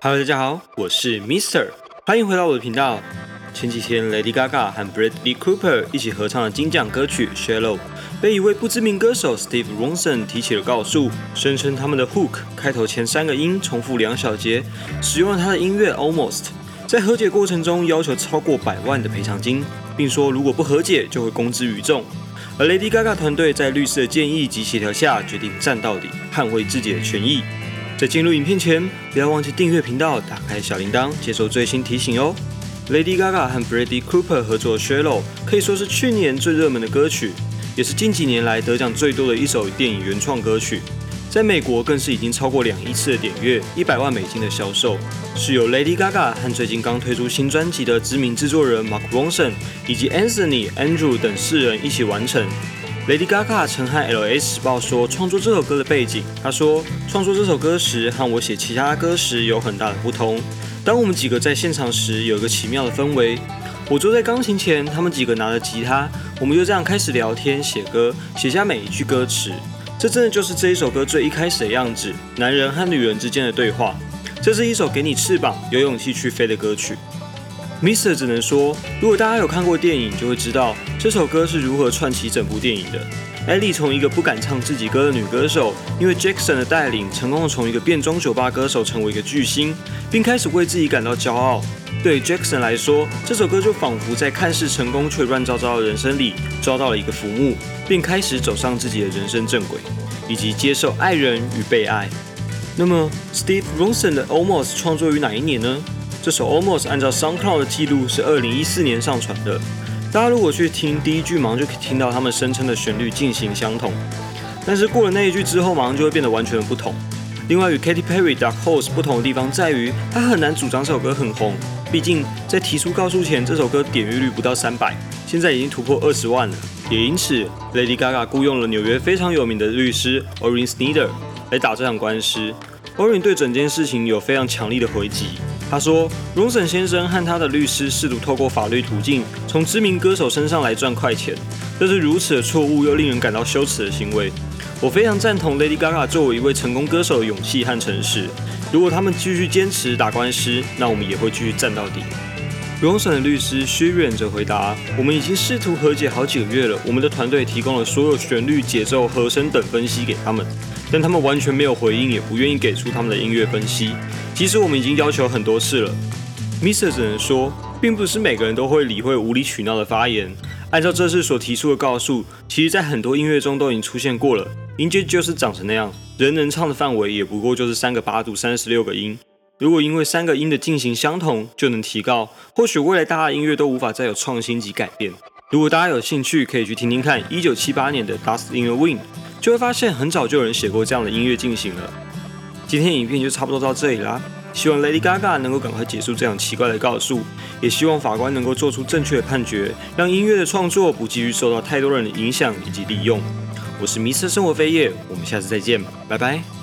Hello， 大家好，我是 Mr， 欢迎回到我的频道。前几天 Lady Gaga 和 Bradley Cooper 一起合唱的金奖歌曲《Shallow》，被一位不知名歌手 Steve Ronson 提起了告诉，声称他们的 Hook 开头前3个音重复2小节，使用了他的音乐 Almost， 在和解过程中要求超过100万的赔偿金，并说如果不和解就会公之于众。而 Lady Gaga 团队在律师的建议及协调下，决定站到底，捍卫自己的权益。在进入影片前，不要忘记订阅频道，打开小铃铛，接受最新提醒哦。Lady Gaga 和 Bradley Cooper 合作的《Shallow》可以说是去年最热门的歌曲，也是近几年来得奖最多的一首电影原创歌曲。在美国更是已经超过2亿次的点阅，100万美金的销售，是由 Lady Gaga 和最近刚推出新专辑的知名制作人 Mark Ronson 以及 Anthony、Andrew 等4人一起完成。Lady Gaga 曾和 LA 时报说创作这首歌的背景，她说创作这首歌时和我写其他歌时有很大的不同。当我们几个在现场时，有一个奇妙的氛围。我坐在钢琴前，他们几个拿着吉他，我们就这样开始聊天、写歌，写下每一句歌词。这真的就是这一首歌最一开始的样子，男人和女人之间的对话。这是一首给你翅膀、有勇气去飞的歌曲。Mr. 只能说，如果大家有看过电影，就会知道这首歌是如何串起整部电影的。Ellie 从一个不敢唱自己歌的女歌手，因为 Jackson 的带领，成功的从一个变装酒吧歌手成为一个巨星，并开始为自己感到骄傲。对 Jackson 来说，这首歌就仿佛在看似成功却乱糟糟的人生里抓到了一个浮木，并开始走上自己的人生正轨，以及接受爱人与被爱。那么 Steve Ronson 的 Almost 创作于哪一年呢？这首 Almost 按照 SoundCloud 的记录是2014年上传的。大家如果去听第一句，马上就可以听到他们声称的旋律进行相同，但是过了那一句之后，马上就会变得完全不同。另外与 Katy Perry、Dark Horse 不同的地方在于，他很难主张这首歌很红，毕竟在提出告诉前，这首歌点阅率不到300，现在已经突破20万了。也因此 ，Lady Gaga 雇用了纽约非常有名的律师 Orin Snyder 来打这场官司。Orin 对整件事情有非常强力的回击。他说 ，Ronson 先生和他的律师试图透过法律途径从知名歌手身上来赚快钱，这是如此的错误又令人感到羞耻的行为。我非常赞同 Lady Gaga 作为一位成功歌手的勇气和诚实。如果他们继续坚持打官司，那我们也会继续站到底。Ronson 的律师 Shirin 则回答：“我们已经试图和解好几个月了，我们的团队提供了所有旋律、节奏、和声等分析给他们，但他们完全没有回应，也不愿意给出他们的音乐分析。即使我们已经要求很多次了。” Mr. 只能说，并不是每个人都会理会无理取闹的发言。按照这次所提出的告诉，其实在很多音乐中都已经出现过了。音阶就是长成那样，人能唱的范围也不过就是3个八度、36个音。如果因为3个音的进行相同就能提高，或许未来大家的音乐都无法再有创新及改变。如果大家有兴趣，可以去听听看1978年的《Dust in the Wind》，就会发现很早就有人写过这样的音乐进行了。今天的影片就差不多到这里啦，希望 Lady Gaga 能够赶快结束这样奇怪的告诉，也希望法官能够做出正确的判决，让音乐的创作不继续受到太多人的影响以及利用。我是Mr. 生活飞叶，我们下次再见，拜拜。